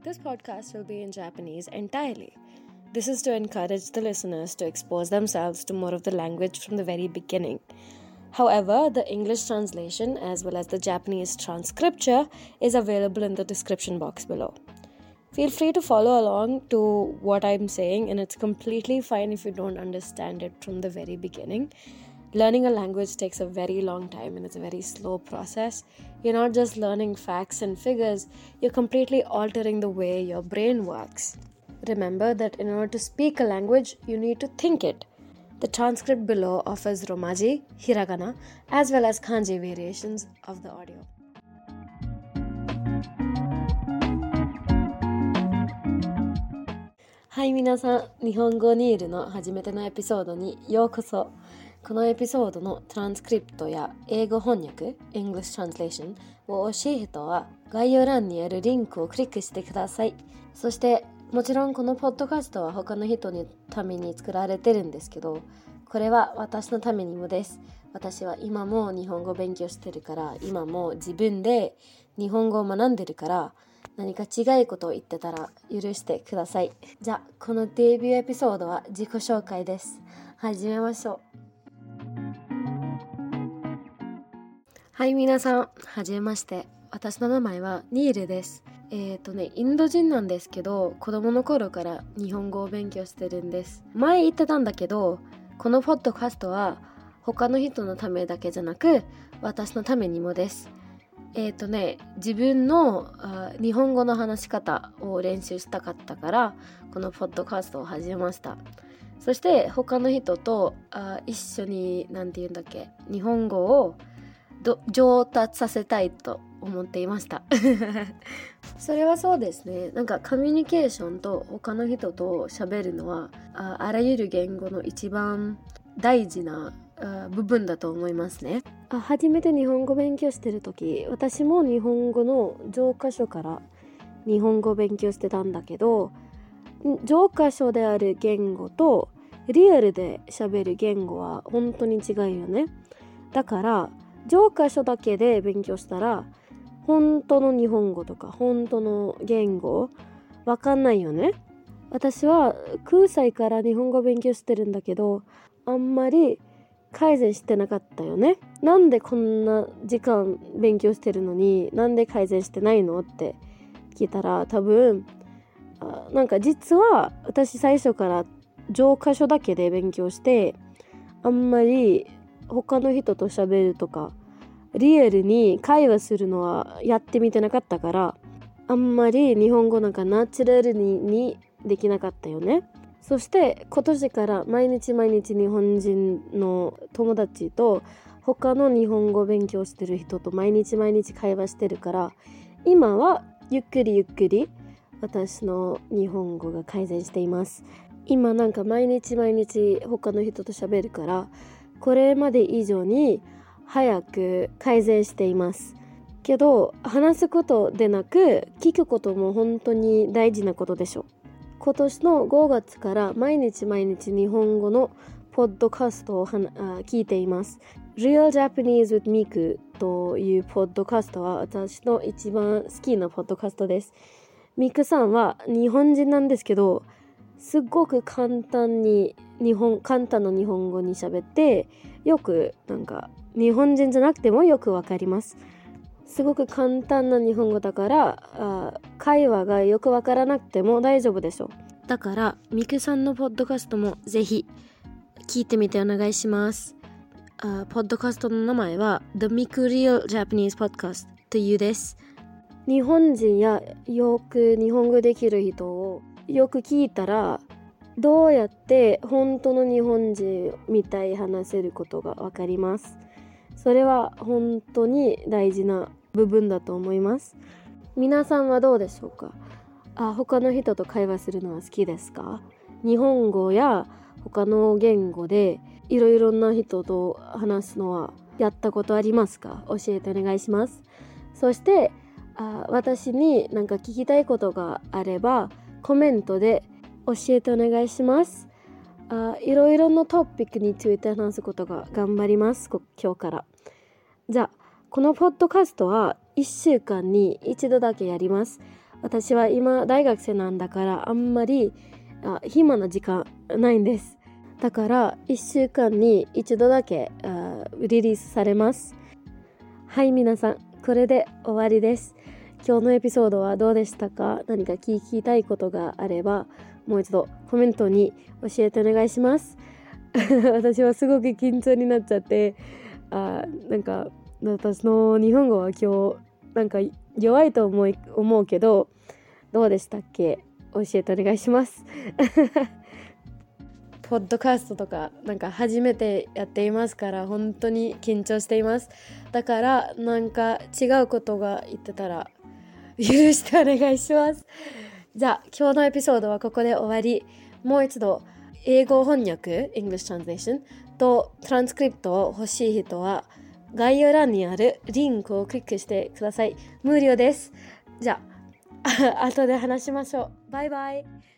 This podcast will be in Japanese entirely. This is to encourage the listeners to expose themselves to more of the language from the very beginning. However, the English translation as well as the Japanese transcripture is available in the description box below. Feel free to follow along to what I'm saying, and it's completely fine if you don't understand it from the very beginning. Learning a language takes a very long time and it's a very slow process. You're not just learning facts and figures, you're completely altering the way your brain works. Remember that in order to speak a language, you need to think it. The transcript below offers Romaji, Hiragana, as well as Kanji variations of the audio. Hi 皆さん、日本語ニールの初めてのエピソードにようこそ。このエピソードのトランスクリプトや英語翻訳 English Translation を欲しい人は概要欄にあるリンクをクリックしてください。そしてもちろんこのポッドキャストは他の人のために作られてるんですけど、これは私のためにもです。私は今も日本語を勉強してるから、今も自分で日本語を学んでるから、何か違いことを言ってたら許してください。じゃあこのデビューエピソードは自己紹介です。始めましょう。はい、皆さん、はじめまして。私の名前はニールです。インド人なんですけど、子供の頃から日本語を勉強してるんです。前言ってたんだけど、このポッドキャストは他の人のためだけじゃなく、私のためにもです。自分の日本語の話し方を練習したかったから、このポッドキャストを始めました。そして他の人と一緒に、日本語を上達させたいと思っていましたそれはそうですね。コミュニケーションと他の人と喋るのはあらゆる言語の一番大事な部分だと思いますね。初めて日本語勉強してる時、私も日本語の教科書から日本語を勉強してたんだけど、教科書である言語とリアルで喋る言語は本当に違うよね。だから教科書だけで勉強したら本当の日本語とか本当の言語わかんないよね。私は9歳から日本語勉強してるんだけど、あんまり改善してなかったよね。なんでこんな時間勉強してるのになんで改善してないのって聞いたら、多分実は私最初から教科書だけで勉強して、あんまり他の人と喋るとかリアルに会話するのはやってみてなかったから、あんまり日本語ナチュラルにできなかったよね。そして今年から毎日日本人の友達と他の日本語勉強してる人と毎日会話してるから、今はゆっくり私の日本語が改善しています。今毎日他の人と喋るから、これまで以上に早く改善していますけど、話すことでなく聞くことも本当に大事なことでしょ。今年の5月から毎日日本語のポッドキャストを聞いています。 Real Japanese with Miku というポッドキャストは私の一番好きなポッドキャストです。ミクさんは日本人なんですけど、すごく簡単な日本語に喋って、よく日本人じゃなくてもよくわかります。すごく簡単な日本語だから会話がよくわからなくても大丈夫でしょ。だからミクさんのポッドキャストもぜひ聞いてみてお願いします。ポッドキャストの名前は The Miku Real Japanese Podcast というです。日本人やよく日本語できる人をよく聞いたら、どうやって本当の日本人みたい話せることがわかります。それは本当に大事な部分だと思います。皆さんはどうでしょうか。他の人と会話するのは好きですか？日本語や他の言語でいろいろな人と話すのはやったことありますか？教えてお願いします。そして私に聞きたいことがあればコメントで教えてお願いします。いろいろなトピックについて話すことが頑張ります。今日から。じゃあこのポッドキャストは1週間に1度だけやります。 私は今大学生なんだからあんまり暇な時間ないんです。だから1週間に1度だけリリースされます。はい、皆さん、これで終わりです。今日のエピソードはどうでしたか？何か聞きたいことがあればもう一度コメントに教えてお願いします。私はすごく緊張になっちゃってなんか私の日本語は今日なんか弱いと思うけどどうでしたっけ？教えてお願いします。ポッドキャストとかなんか初めてやっていますから本当に緊張しています。だからなんか違うことが言ってたら許してお願いします。じゃあ今日のエピソードはここで終わり。もう一度英語翻訳 English Translation とトランスクリプトを欲しい人は概要欄にあるリンクをクリックしてください。無料です。じゃあ後で話しましょう。バイバイ。